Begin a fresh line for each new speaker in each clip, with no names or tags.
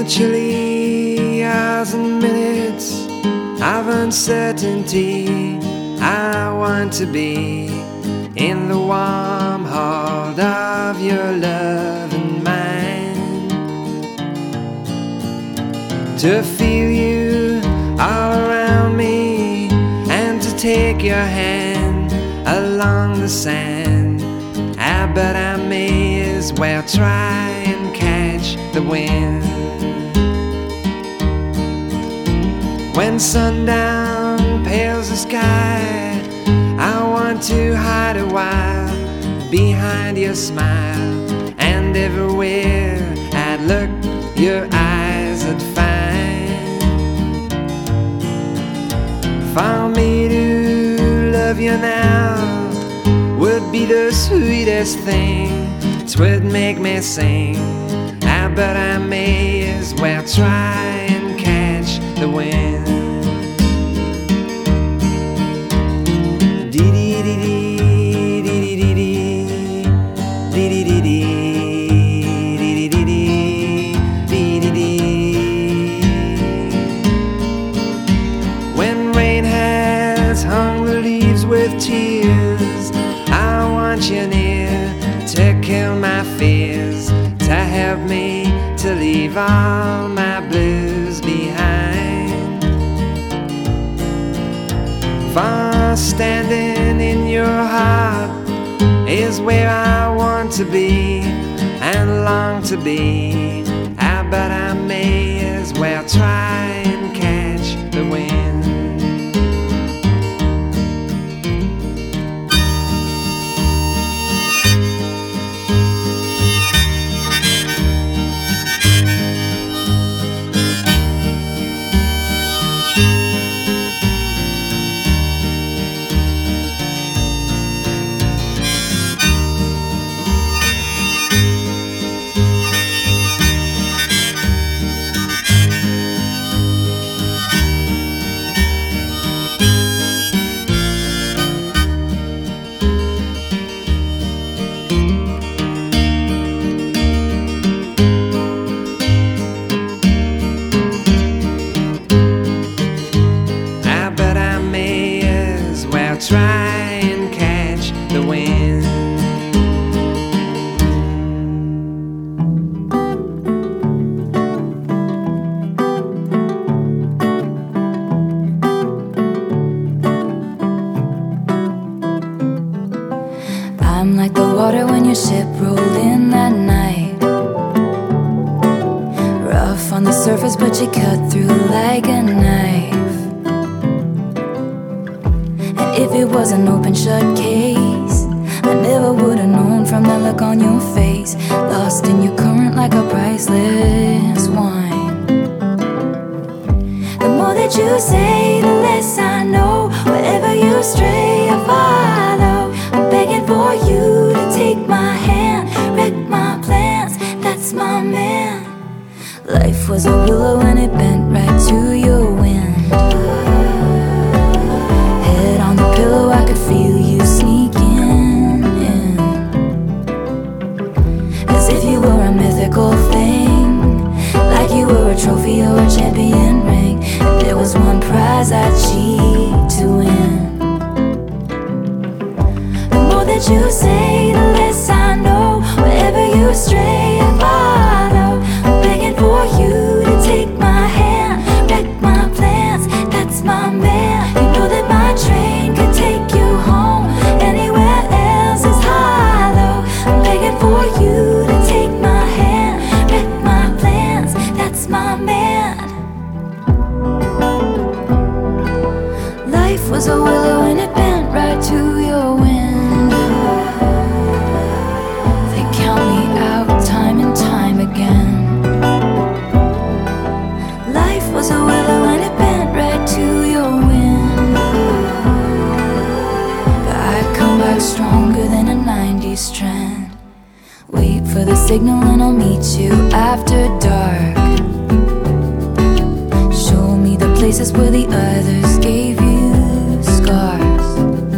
chilly hours and minutes of uncertainty, I want to be in the warm hold of your love and mine, to feel you all around me and to take your hand along the sand. But I may as well try and catch the wind. When sundown pales the sky, I want to hide a while behind your smile, and everywhere I'd look, your eyes I'd find. For me to love you now would be the sweetest thing, 'twould make me sing. But I may as well try and catch the wind. When rain has hung the leaves with tears, I want you near to kill my fears, to help me to leave all my blues behind. For standing in your heart is where I want to be and long to be. But I may as well try and catch the wind. Try and catch the wind.
I'm like the water when your ship rolled in that night. Rough on the surface, but you cut through like a knife. If it was an open shut case, I never would have known from that look on your face. Lost in your current like a priceless wine. The more that you say, the less I know. Wherever you stray, I follow. I'm begging for you to take my hand, wreck my plans, that's my man. Life was a willow and it bent right to your wind. Pillow, I could feel you sneaking in, as if you were a mythical thing, like you were a trophy or a champion ring, and there was one prize I'd cheat to win. The more that you say, the less I know. Wherever you stray, I follow. I'm begging for you to take my hand, wreck my plans, that's my man. You know that my train could take you home, anywhere else is hollow. I'm begging for you to take my hand, wreck my plans, that's my man. Life was a willow and it bent right to your wind. They count me out time and time again. Life was a willow and it bent right to your wind. But I come back stronger than a 90s trend. Wait for the signal and I'll meet you after dark. Show me the places where the others gave you scars.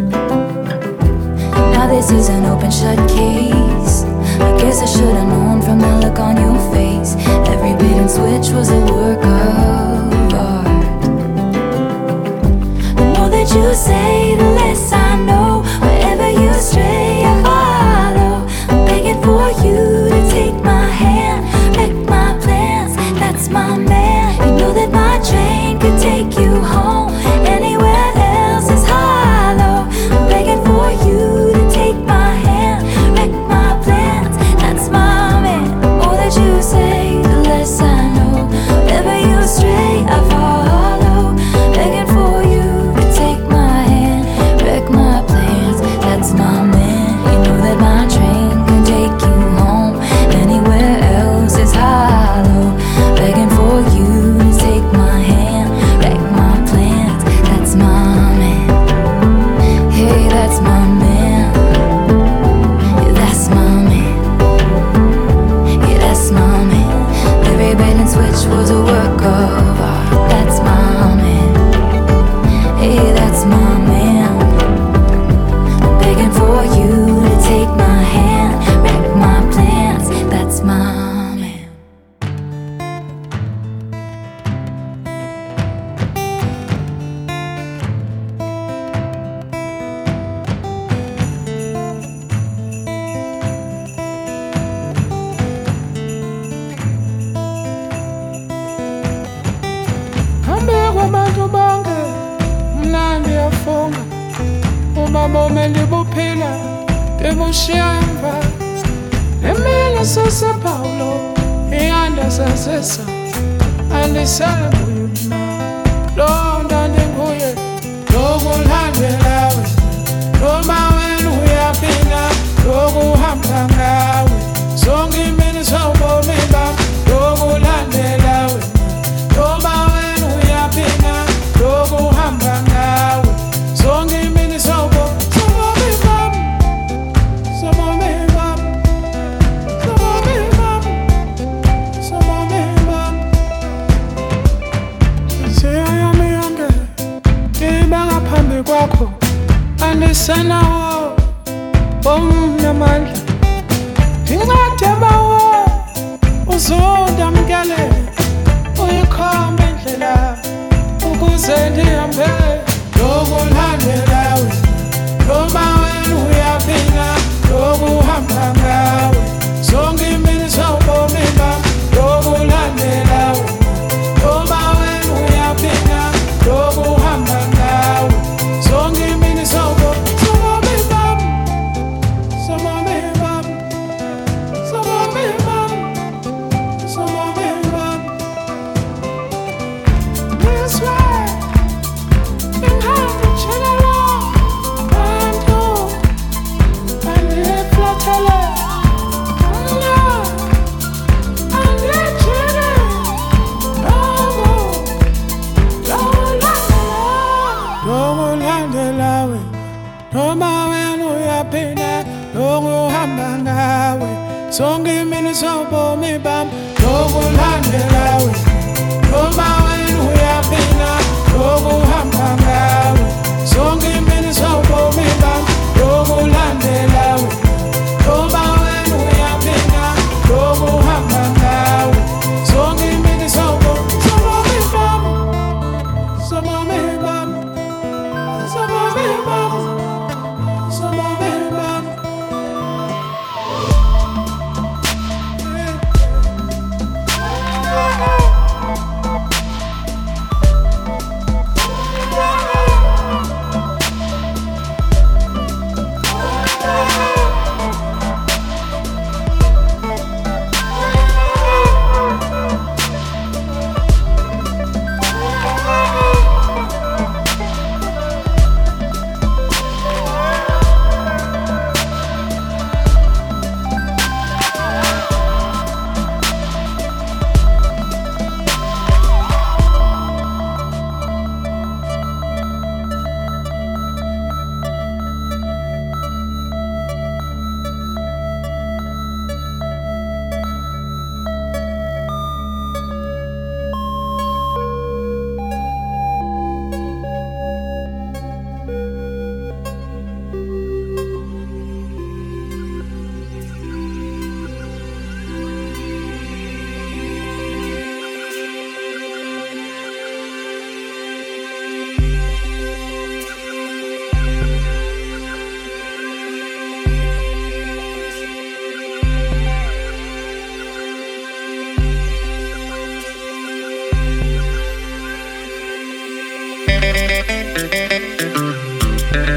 Now this is an open shut case. I guess I should've known from the look on your face. Every bit and switch switch was a work of art. The more that you say, the less I know. Wherever you stray, I follow. I'm begging for you to take my hand, wreck my plans, that's my man. You know that my train could take you home. Anywhere else is hollow. I'm begging for you to take my hand, wreck my plans, that's my man. The more that you say, the less I know. Wherever you stray, I follow. Begging for you to take my hand, wreck my plans, that's my man. You know that my train can take you home. Anywhere else is hollow. Begging for you to take my hand, wreck my plans, that's my man. Hey, that's my man. Yeah, that's my man. Yeah, that's my man. Every bait and switch was a work of art. That's my man. Hey, that's my man. I'm begging for you to take my hand, wreck my plans, that's my man.
Abantu bonke mna ndiyafunga uma bome ndibuphila ndibushiya emva emini sasepawulo iyanda sasesa andisabuye mna lo ndandinguye lokulandelawe noma wena uyaphila lokuhamba ngawe zonke imini sobomi bam lokulandelawe noma wena uyaphila lokuhamba ngawe zonke imini sobomi bam sobomi bam sobomi bam sobomi bam seyami yonke ibanga phambi kwakho andisenawo bomnamandla incede bawo uzondamkele uyikhombe indlela ukuze ndihambe lokulandelawe noma wena uyaphila lokuhamba ngawe zonke imini sobomi bam lokulandelawe noma wena uyaphila lokuhamba ngawe zonke imini sobomi bam sobomi bam sobomi bam sobomi bam. This way in heaven chelala bantu andiflatele Allah andijene lokulandelawe noma wena uyaphila lokuhamba ngawe zonke imini sobomi bam lokulandelawe noma wena uyaphila lokuhamba ngawe zonke imini sobomi bam lokulandelawe noma wena uyaphila lokuhamba ngawe zonke imini sobomi bam sobomi bam sobomi bam sobomi bam.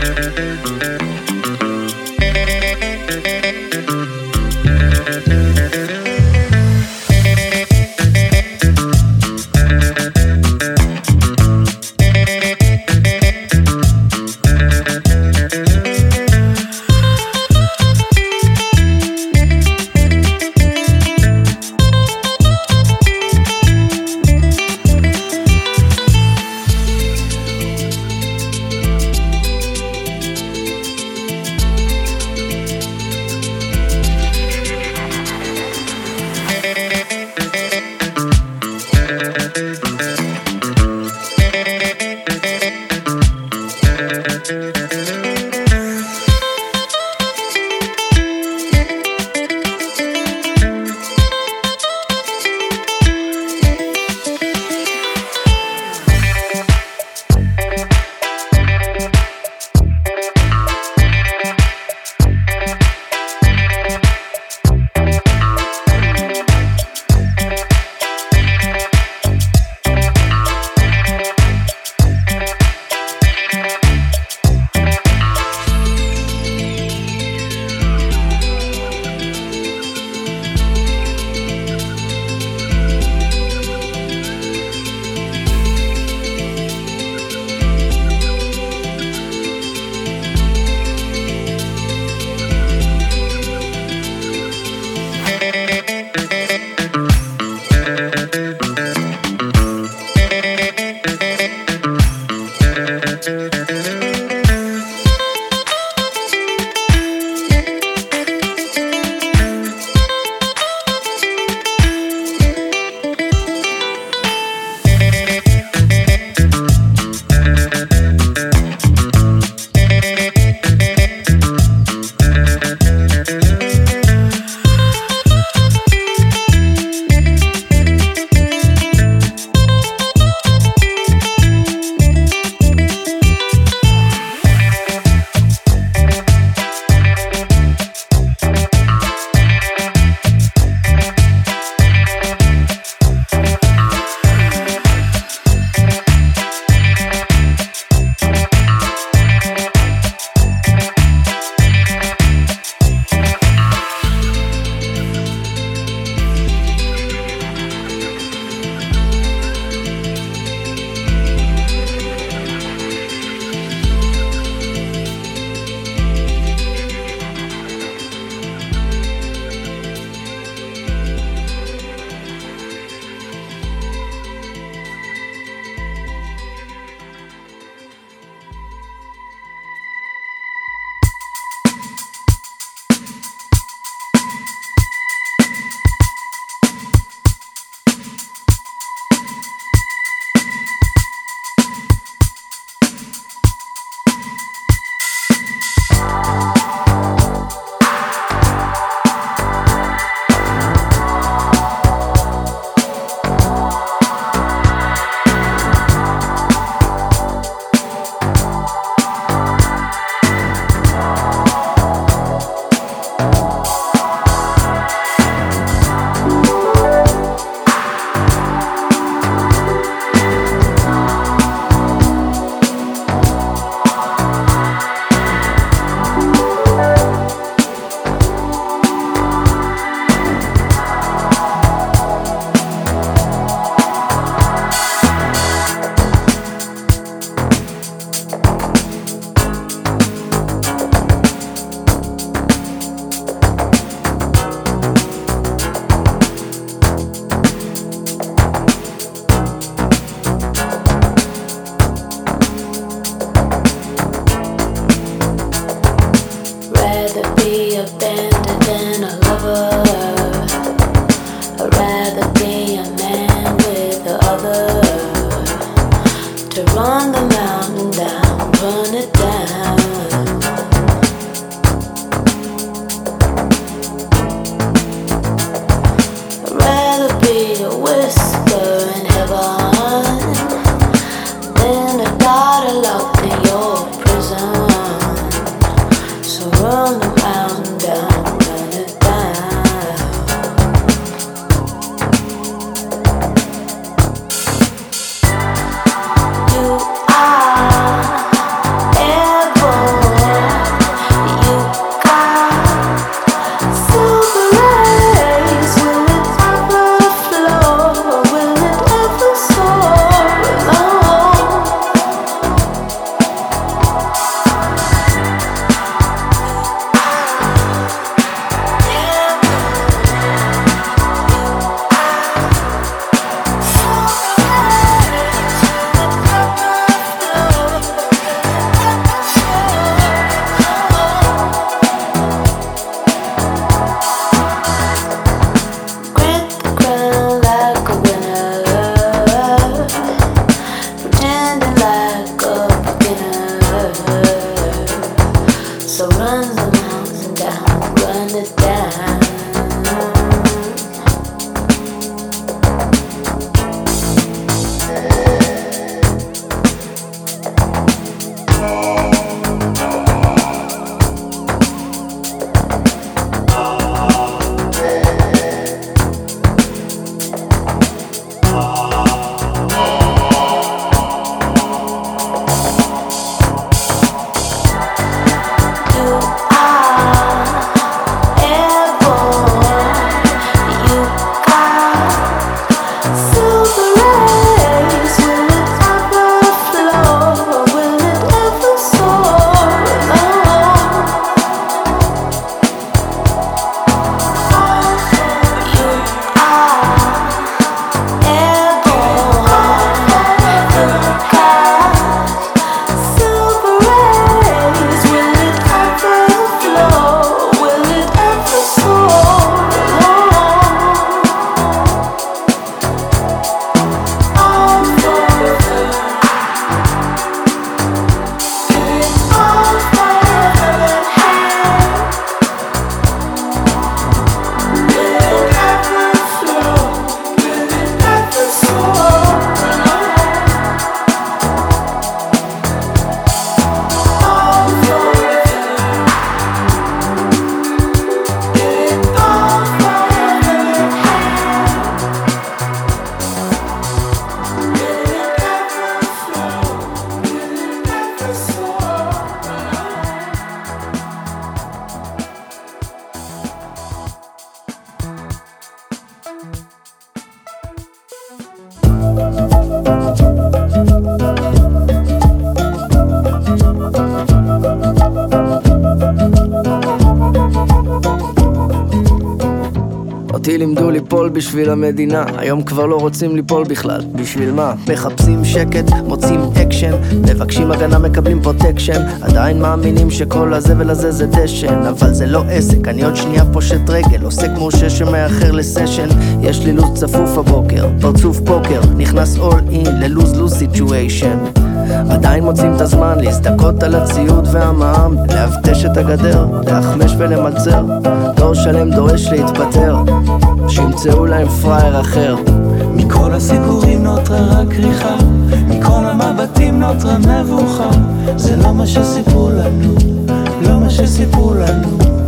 Run the mountain down. So run the mountain down, run it down.
אותי לימדו ליפול בשביל המדינה, היום כבר לא רוצים ליפול בכלל. בשביל מה? מחפשים שקט, מוצאים אקשן, מבקשים הגנה, מקבלים פרוטקשן, עדיין מאמינים שכל הזבל הזה זה דשן, אבל זה לא עסק, אני עוד שנייה פושט רגל, עוסק מורשה שמאחר לסשן. יש לי לוז צפוף הבוקר, פרצוף פוקר, נכנס all in ללוז-לוז סיטואשן. עדיין מוצאים את הזמן להזדקות על הציוד והמע"מ, להבטש את הגדר, להחמש ולמלצר. דור שלם דורש להתפטר, שימצאו להם פרייר אחר.
מכל הסיפורים נותרה רק ריחה, מכל המבטים נותרה מבוכה. זה לא מה שסיפרו לנו, לא מה שסיפרו לנו.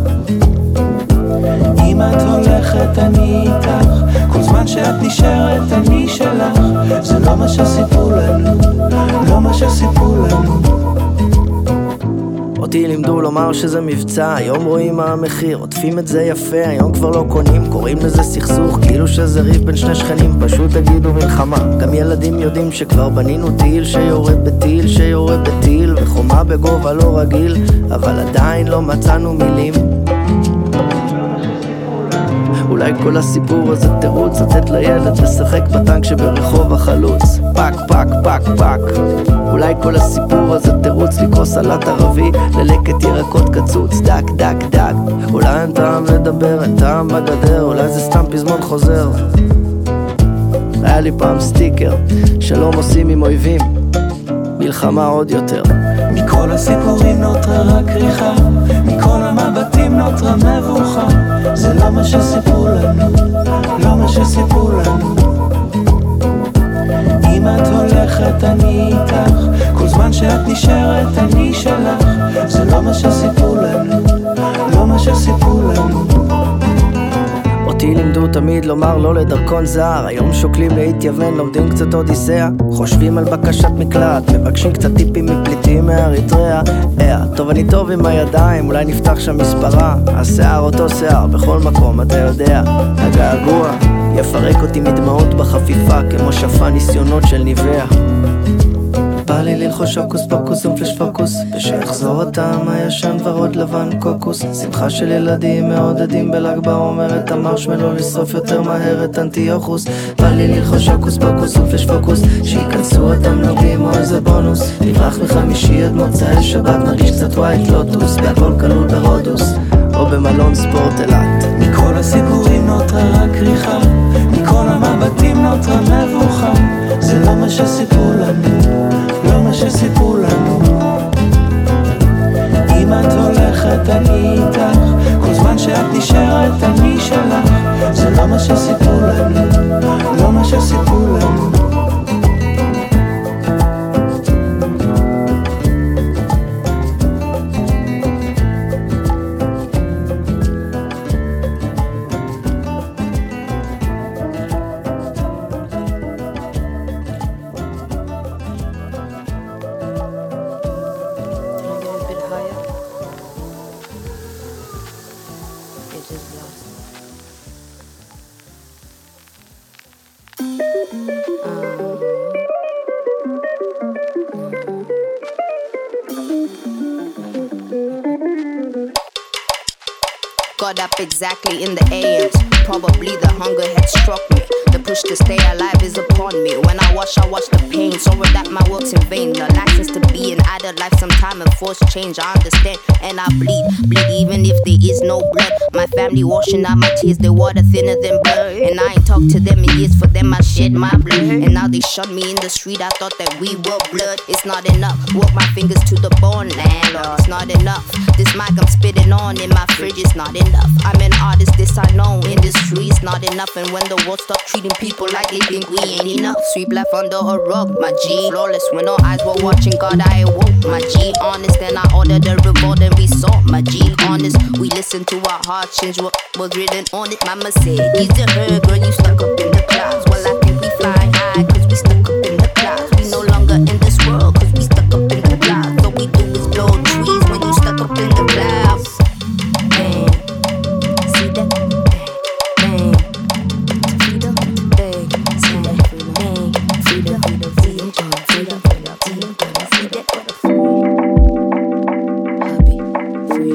אם את הולכת אני איתך, כל זמן שאת נשארת אני שלך. זה לא מה שסיפרו לנו, לא מה שסיפרו לנו.
אותי לימדו לומר שזה מבצע, היום רואים מה המחיר, עוטפים את זה יפה, היום כבר לא קונים, קוראים לזה סכסוך, כאילו שזה ריב בין שני שכנים, פשוט תגידו מלחמה. גם ילדים יודעים שכבר בנינו טיל שיורד בטיל שיורד בטיל, וחומה בגובה לא רגיל, אבל עדיין לא מצאנו מילים. אולי כל הסיפור הזה תירוץ לתת לילד לשחק בטנק שברחוב החלוץ, פק פק פק פק. אולי כל הסיפור הזה תירוץ לקרוא סלט ערבי ללקט ירקות קצוץ, דק דק דק. אולי אין טעם לדבר, אין טעם בגדר, אולי זה סתם פזמון חוזר. היה לי פעם סטיקר, שלום עושים עם אויבים, מלחמה עוד יותר.
מכל הסיפורים נותרה רק ריחה, מכל המבטים נותרה מבוכה. זה לא מה שסיפרו לנו, לא מה שסיפרו לנו. אם את הולכת אני איתך, כל זמן שאת נשארת אני שלך. זה לא מה שסיפרו לנו, לא מה שסיפרו לנו.
אותי לימדו תמיד לומר לא לדרכון זר, היום שוקלים להתייוון, לומדים קצת אודיסאה, חושבים על בקשת מקלט, מבקשים קצת טיפים מפליטים מאריתריאה. טוב אני טוב עם הידיים, אולי נפתח שם מספרה, השיער אותו שיער בכל מקום, אתה יודע, הגעגוע יפרק אותי מדמעות בחפיפה, כמו שפה ניסיונות של ניביה. בא לי ללחוש הוקוס פוקוס ומפלש פוקוס, ושיחזור הטעם הישן ורוד לבן קוקוס. שמחה של ילדים מעודדים בל"ג בעומר, את המרשמלו לשרוף יותר מהר את אנטיוכוס. בא לי ללחוש הוקוס פוקוס ומפלש פוקוס, שיכנסו התמלוגים או איזה בונוס. נברח מחמישי עד מוצאי שבת, נרגיש קצת ווייט לוטוס, והכל כלול ברודוס או במלון ספורט אילת.
מכל הסיפורים נותרה רק ריחה, מכל המבטים נותרה מבוכה. זה לא מה שסיפרו לנו, לא מה שסיפרו לנו. אם את הולכת שאני איתך, כל זמן שאת נשארת אני שלך. זה לא מה שסיפרו לנו, לא מה שסיפרו לנו.
Got up exactly in the AMs. Probably the hunger had struck me. The push to stay alive is upon me. When I watch the pain. Sorry that my work's in vain. The license to be an adult life sometime and force change. I understand and I bleed even if there is no blood. My family washing out my tears, they water thinner than blood. And I ain't talked to them in years, for them I shed my blood. And now they shot me in the street, I thought that we were blood. It's not enough, work my fingers to the bone, landlord. It's not enough, this mic I'm spitting on in my fridge, it's not enough. I'm an artist, this I know, industry is not enough. And when the world stop treating people like they think we ain't enough, sweep life under a rug, my G. Flawless when all eyes were watching, God I awoke, my G. Honest, then I ordered a revolt and we saw, my G. Honest, we listened to our hearts, change what was written on it. Mama said, easy her, girl, you stuck up in the clouds. Well, I think we flying high, cause we stuck up in the clouds. We no longer in this world, cause we stuck up in the clouds. All we do is blow trees when you stuck up in the clouds. Bang, see that? Bang, freedom, bang, see that? Bang, freedom, freedom, freedom, freedom, freedom, see that? Happy, free.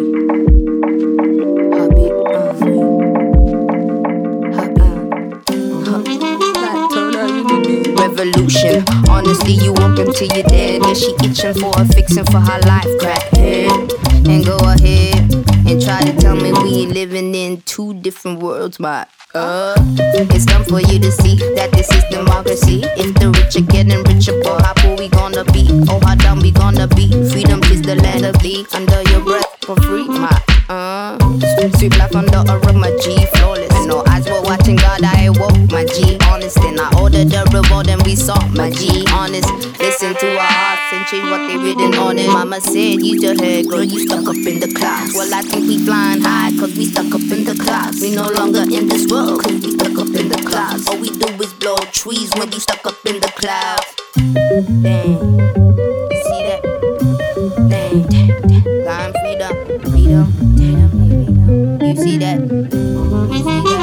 Revolution. Honestly, you walk until you're dead. Yeah, she itching for a fixing for her life. Crack head and go ahead and try to tell me we ain't living in two different worlds. But it's time for you to see that this is democracy. If the rich are getting richer, boy, how poor we gonna be? Oh, how dumb we gonna be? Freedom is the land of thee. Under your breath for free, my sweep life under a rug, my G. Flawless. And no eyes were watching, God I awoke, my G. Honest, then I ordered a revolt and we saw, my G. Honest, listen to our hearts and change what they written on it. Mama said, use your head, girl, you stuck up in the clouds. Well, I think we flying high, cause we stuck up in the clouds. We no longer in this world, cause we stuck up in the clouds. All we do is blow trees when we stuck up in the clouds. Dang, you see that? Dang, flying freedom, freedom, freedom. You see that? You see that?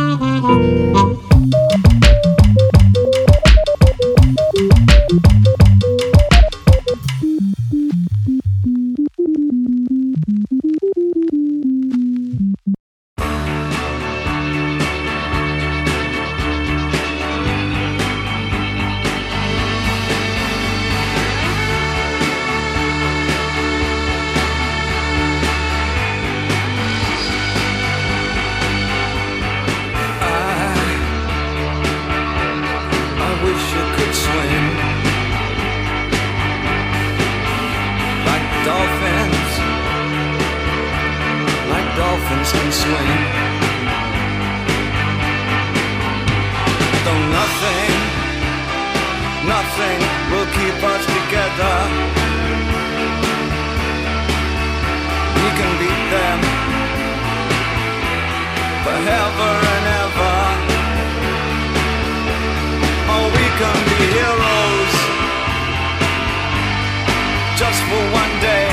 Can swing. Though nothing will keep us together. We can beat them forever and ever. Or we can be heroes just for one day.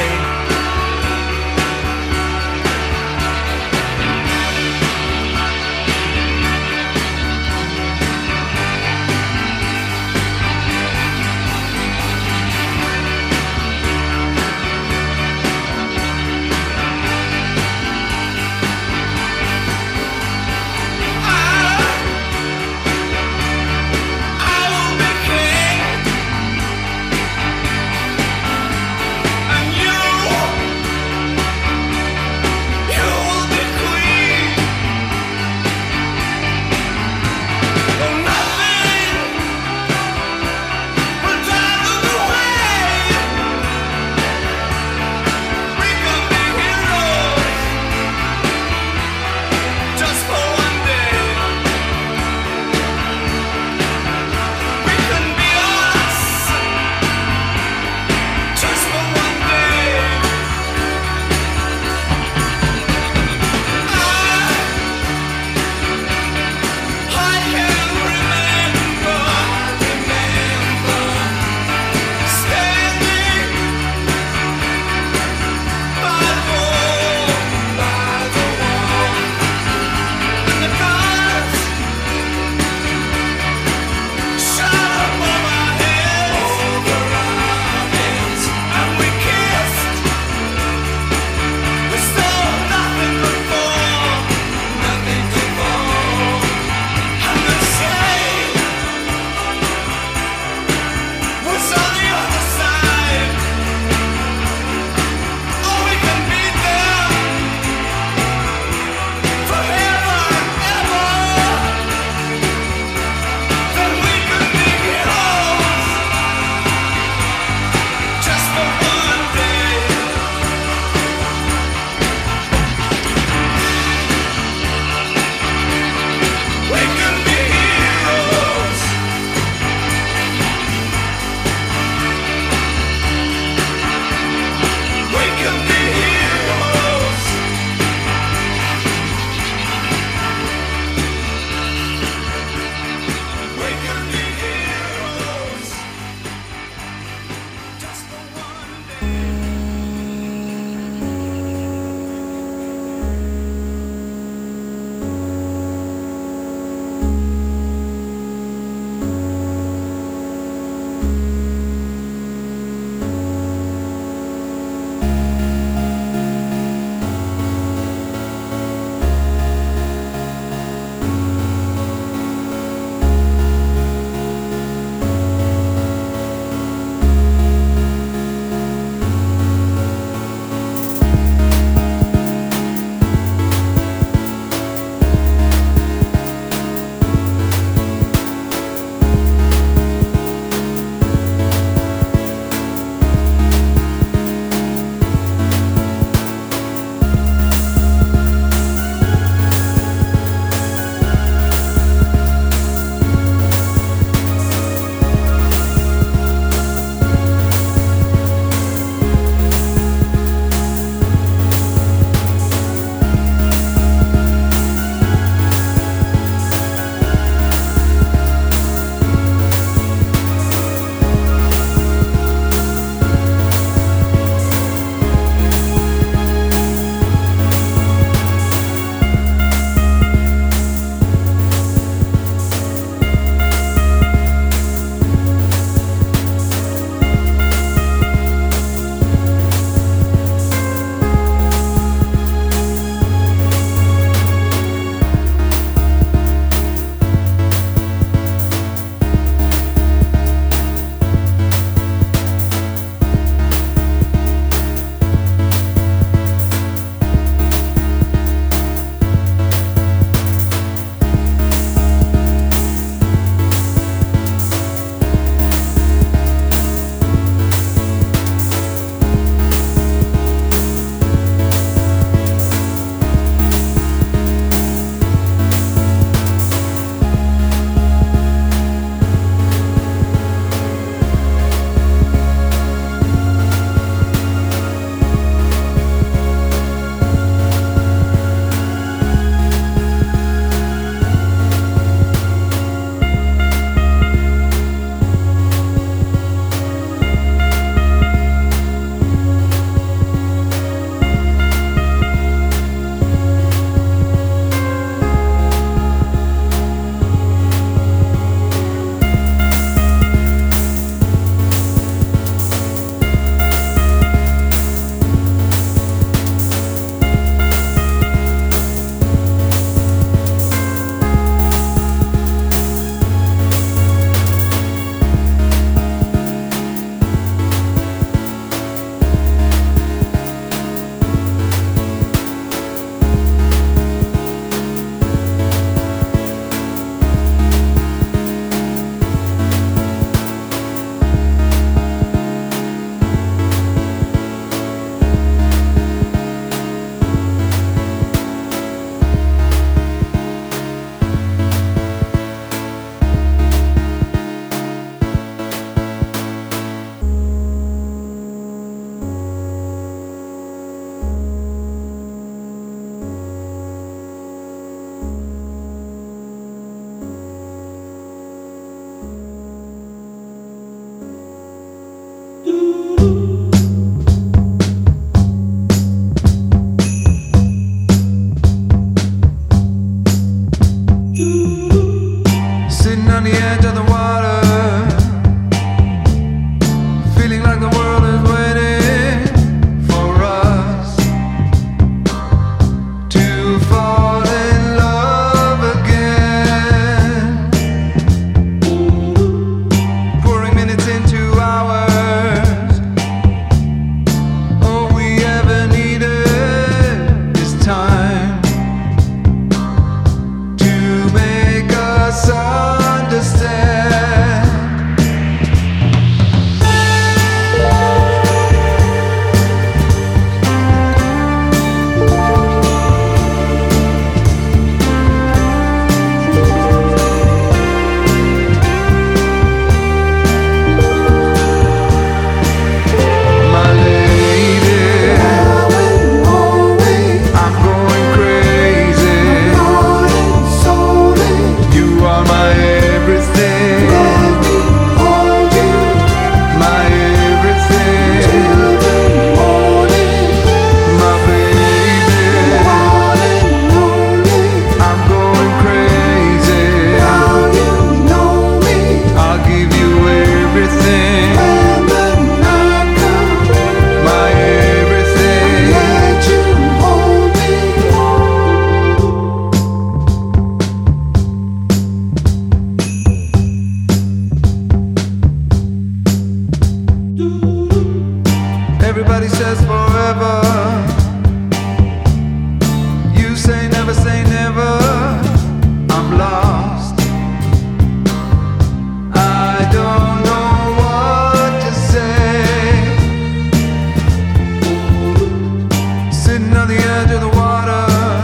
on the edge of the water.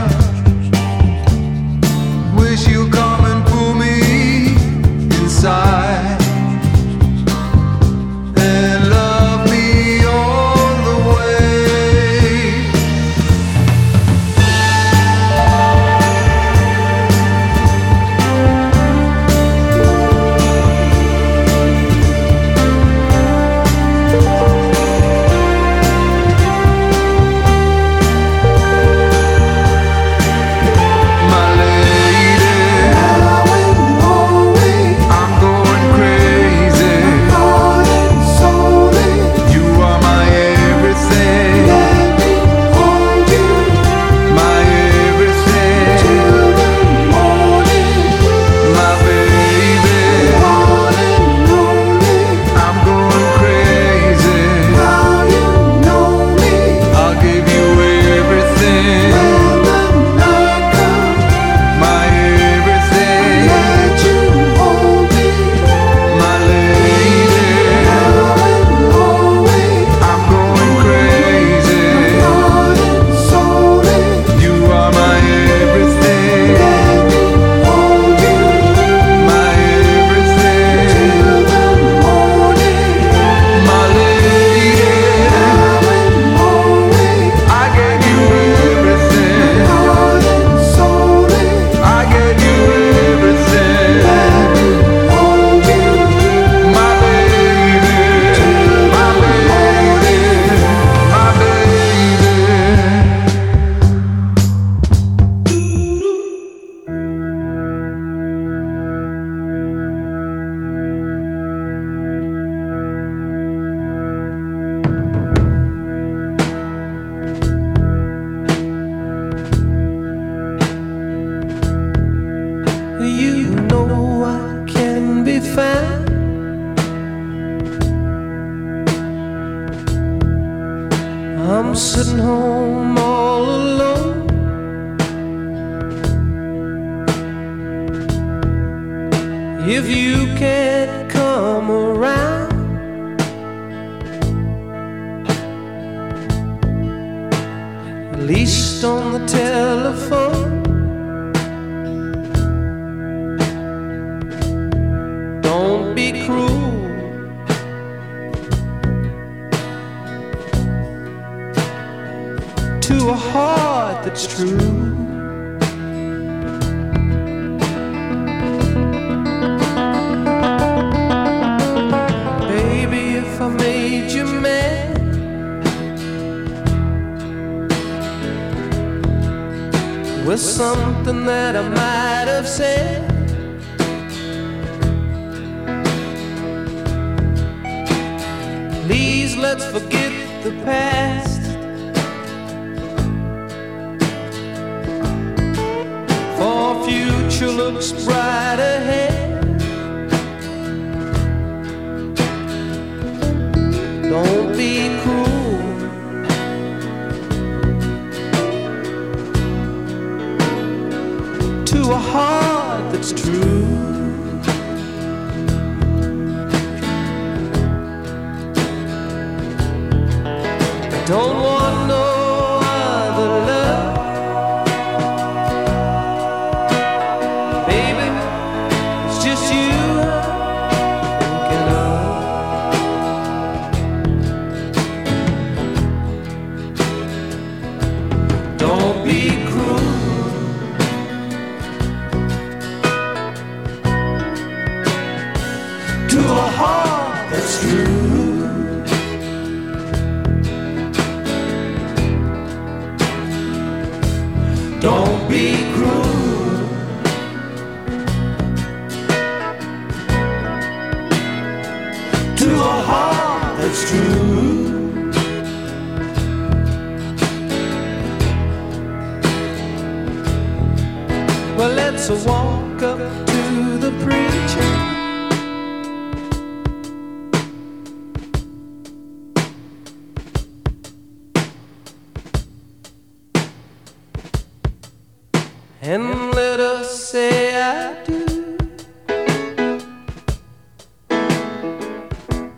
Wish you'd come and pull me inside and love me all the way. My lady, I'm going crazy. You are my everything, my everything, my baby. I'm going crazy. I'll give you everything, my everything, my lady. I'm going crazy. You are my everything, my everything, my lady. I gave you everything, I gave you everything, my baby, my baby, my baby. You know I can be found. I'm sitting home all alone. If you can't come around, at least on the telephone. Don't be cruel to a heart that's true. Baby, if I made you mad, with something that I might have said, please let's forget the past. For future looks bright ahead. Don't be cruel to a heart that's true. Don't want no other love, baby. It's just you I'm thinking of. Don't be cruel to a heart that's true. Don't be cruel to a heart that's true. Well, let's walk up to the preacher. And let us say I do.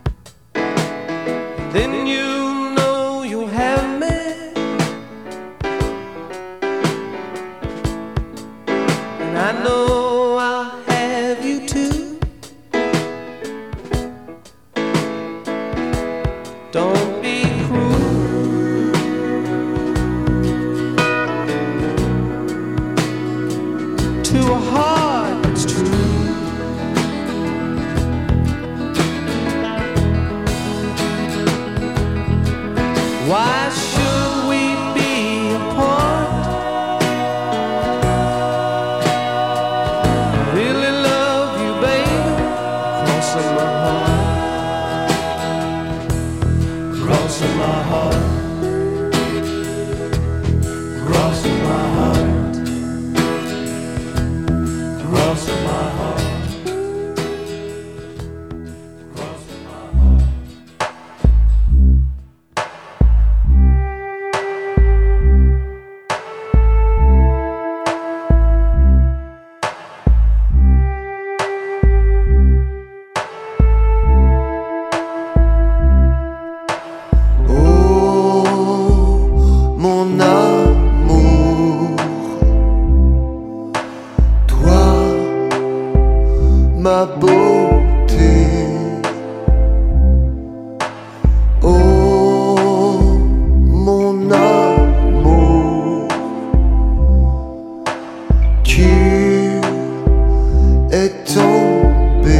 Then you know you'll have me know I'll have you too. Don't be cruel to a heart that's true. Why should we be apart? I really love you, baby. Crossing my heart. Crossing my heart. Crossing my heart. Crossing my heart.
Ma beauté, oh mon amour, tu es tombé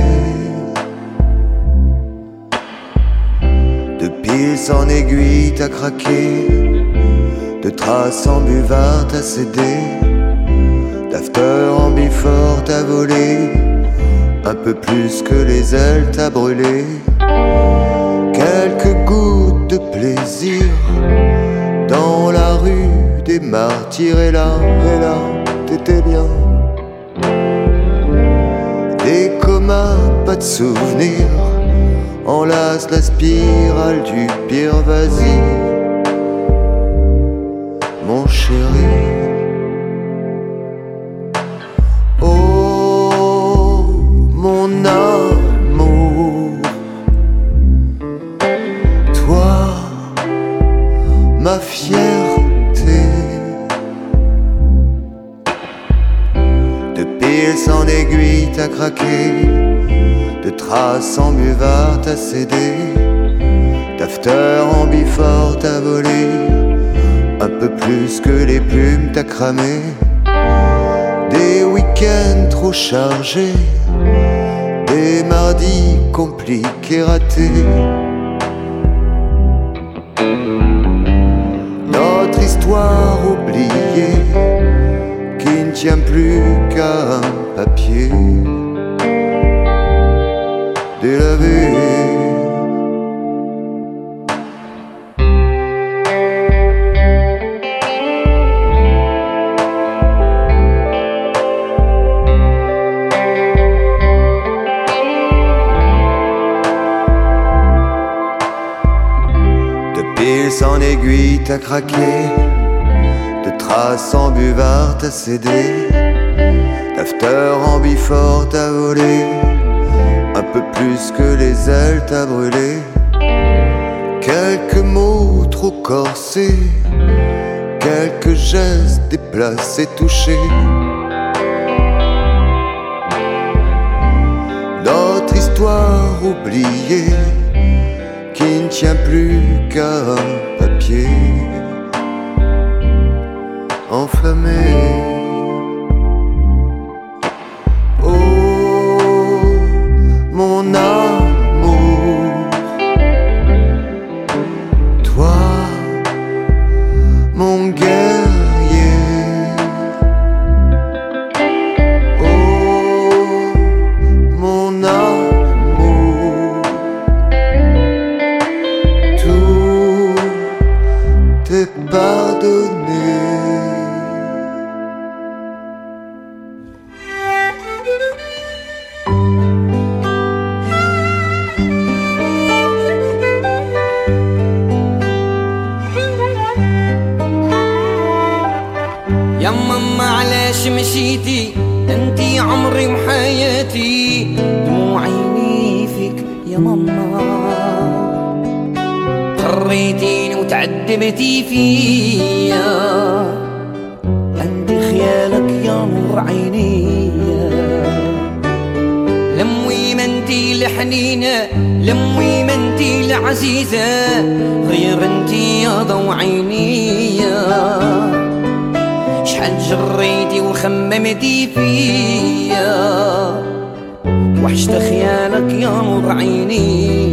de pils en aiguille, t'as craqué, de traces en buvard, t'as cédé, d'after en bifort, t'as volé. Un peu plus que les ailes, t'as brûlé. Quelques gouttes de plaisir dans la rue des martyrs. Et là, t'étais bien. Des comas, pas de souvenirs. Enlace la spirale du pire, vas-y, mon chéri. Mon amour, toi, ma fierté, de pils en aiguille, t'as craqué, de traces en buvard, t'as cédé, d'after en bifort, t'as volé, un peu plus que les plumes, t'as cramé, des week-ends trop chargés, des mardis compliqués, ratés. Notre histoire oubliée qui ne tient plus qu'à un papier délavé. En aiguille, t'as craqué, de traces en buvard, t'as cédé, d'after en bifort, t'as volé, un peu plus que les ailes, t'as brûlé. Quelques mots trop corsés, quelques gestes déplacés, touchés. Notre histoire oubliée qui ne tient plus qu'à un papier enflammé. Oh, mon amour, toi, mon guerrier. Oh, mon amour, t'es pardonné.
يا ماما علاش مشيتي انتي عمري وحياتي دموع عيني فيك يا ماما خريتيني وتعذبتي فيا عندي خيالك يا نور عيني الحنينة لمي ما انتي العزيزة غير انتي يا ضو عيني شحال جريتي وخممتي فيا وحشت خيالك يا نور عيني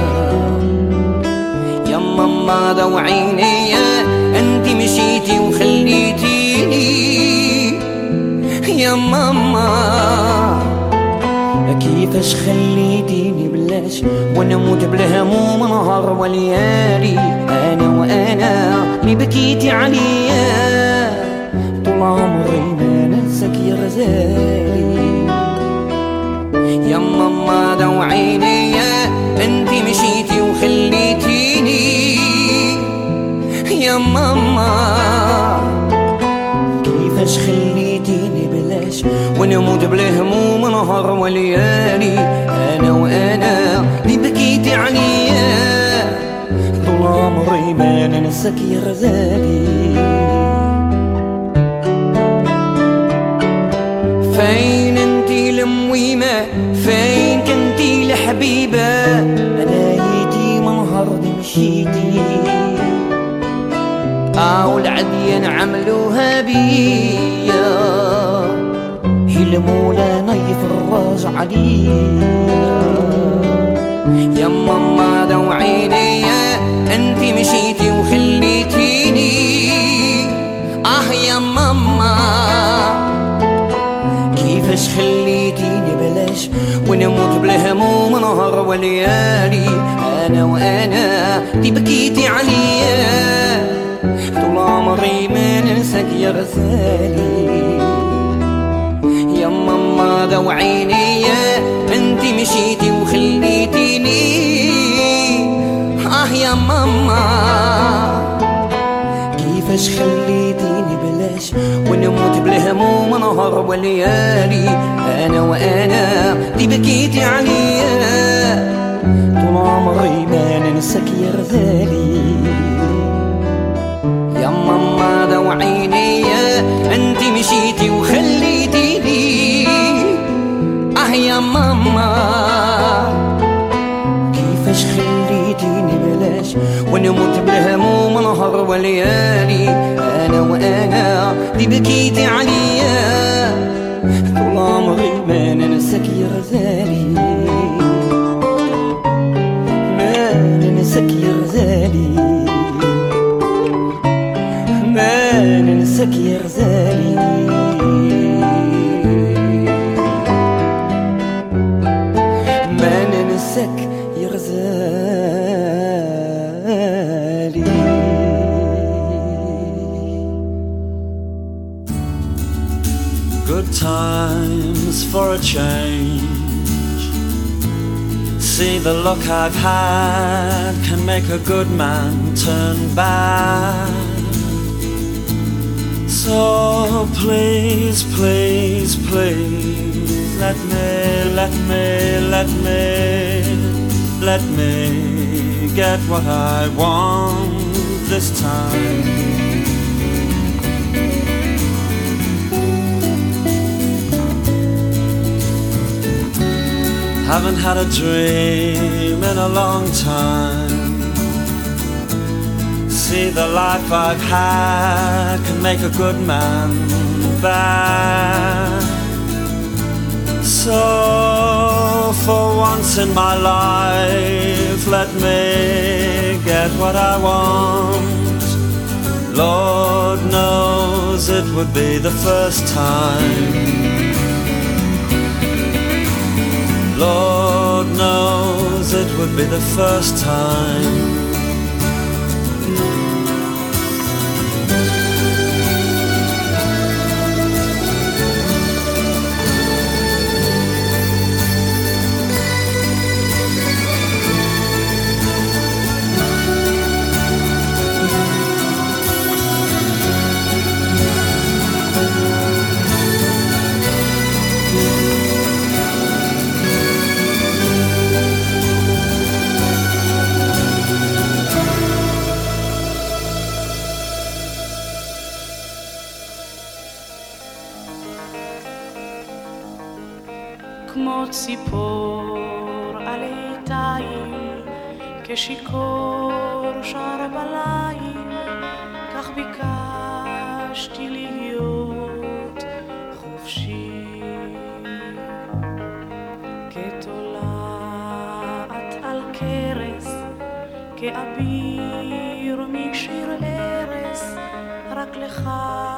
يا ماما ضو عيني انتي مشيتي وخليتيني يا ماما كيفاش خليتيني بلاش وانا موت بالهموم نهار وليالي انا وانا اللي بكيتي عليا طول عمري ما ننساك يا غزالي يا ماما ضو عيني انتي مشيتي وخليتيني يا ماما كيفاش خليتيني بلاش ونموت بالهموم نهار وليالي انا وانا اللي بكيتي عليا طول عمري ما ننساك يا غزالي فين انتي لمويمة فين كنتي لحبيبة انا يدي من هردي مشيتي والعديان عملوها بيا هلمولا نايف الراج عليا يا ماما ضو عيني انتي مشيتي وخليتيني يا ماما كيفاش خليتيني بلاش ونموت بالهموم نهار وليالي انا وانا اللي بكيتي عليا طول عمري ما ننساك يا غزالي يا ماما ضو عيني انتي مشيتي وخليتيني يا ماما كيفاش خليتيني بلاش ونموت بالهموم نهار وليالي انا وانا اللي بكيتي عليا طول عمري ما ننساك يا غزالي يا ماما ضو عيني انتي مشيتي وخليتيني يا ماما كيفاش خليتيني بلاش ونموت بالهموم نهار وليالي انا وانا اللي بكيتي عليا طول عمري ما ننساك يا غزالي ما ننساك يا غزالي ما ننساك يا غزالي ما ننساك يا غزالي
Good times for a change. See the luck I've had can make a good man turn bad. So please, please, please let me get what I want this time. Haven't had a dream in a long time. See the life I've had can make a good man bad. So for once in my life let me get what I want. Lord knows it would be the first time. Lord knows it would be the first time.
כמו ציפור
עלי תיל, כשיכור שר בליל, כך ביקשתי להיות חופשי. כתולעת על קרס, כאביר משיר ארס, רק לך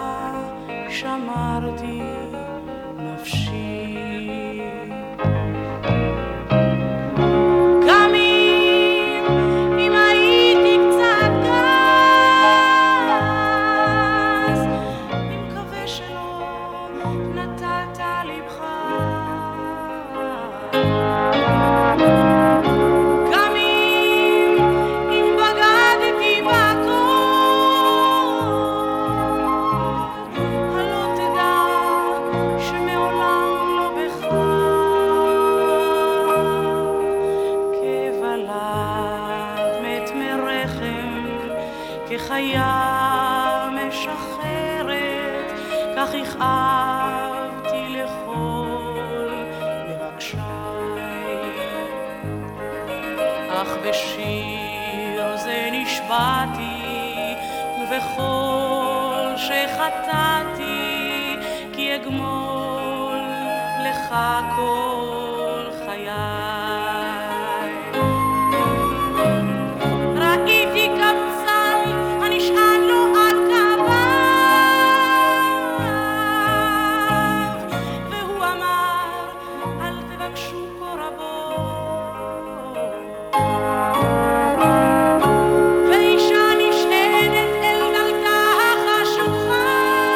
שמרתי נפשי. גם אם הייתי קצת גס, אני מקווה שלא נתת לבך. גם אם בגדתי בכל, הלא תדע שמעולם לא בך. כוולד מת מרחם, כחיה משחררת, כך הכאבתי לכל מבקשיי. אך בשיר זה נשבעתי, ובכל שחטאתי, כי אגמול לך כל חיי. ראיתי קמצן הנשען לו על כפיו, והוא אמר אל תבקשו כה רבות. ואישה נשענת אל דלתה החשוכה,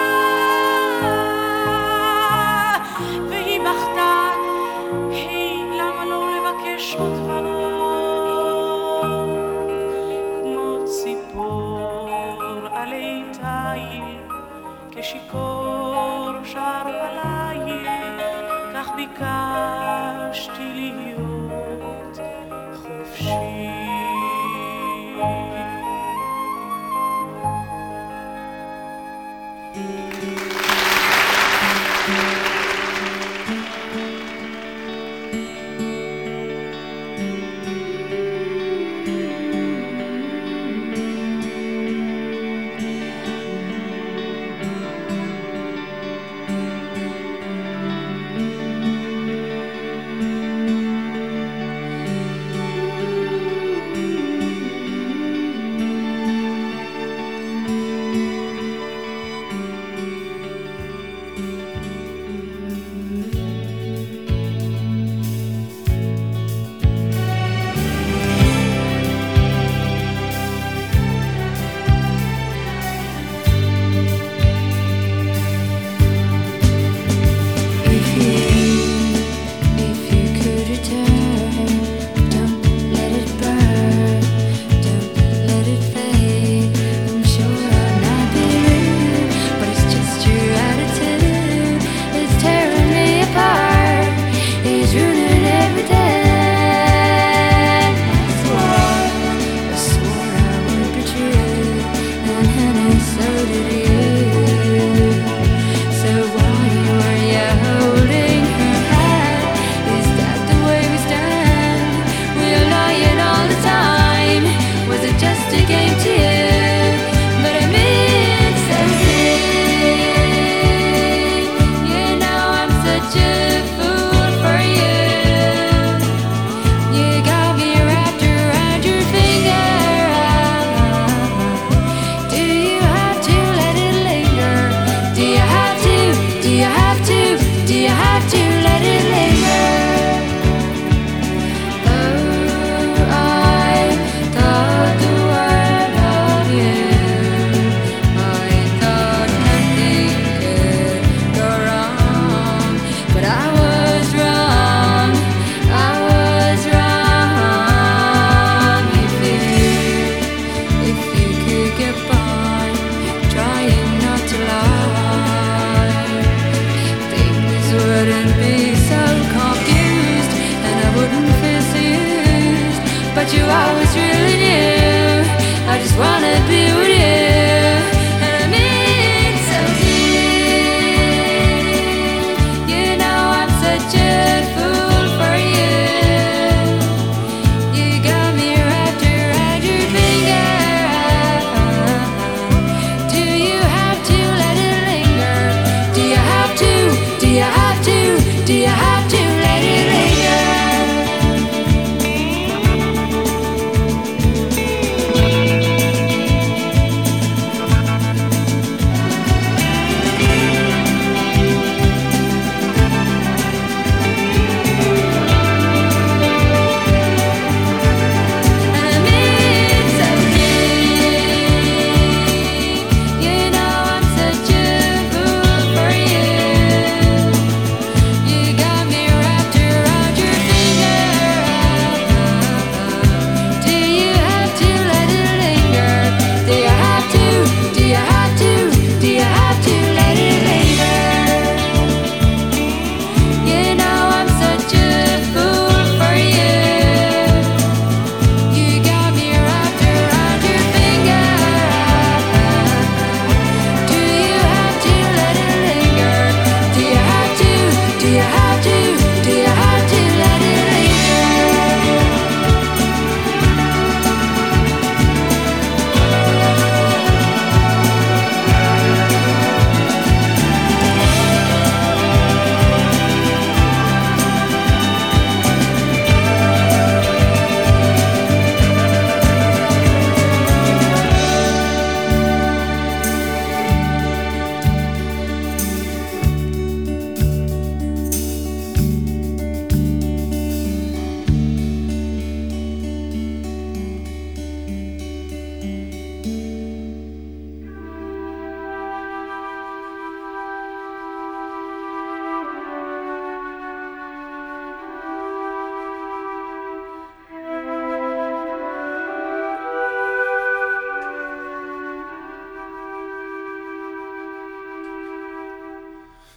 והיא בכתה, היי, למה לא לבקש עוד ועוד? כמו ציפור עלי תיל, כשיכור שר בליל, כך ביקשתי להיות חופשי.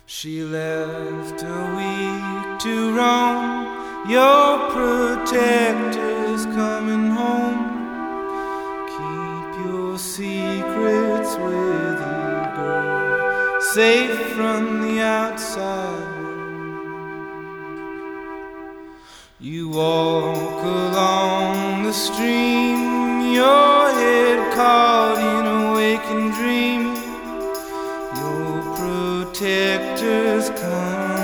She left a week to roam. Your protector's coming home. Keep your secrets with you, girl, safe from the outside world. You walk along the stream, your head caught in a waking dream. Your protector's coming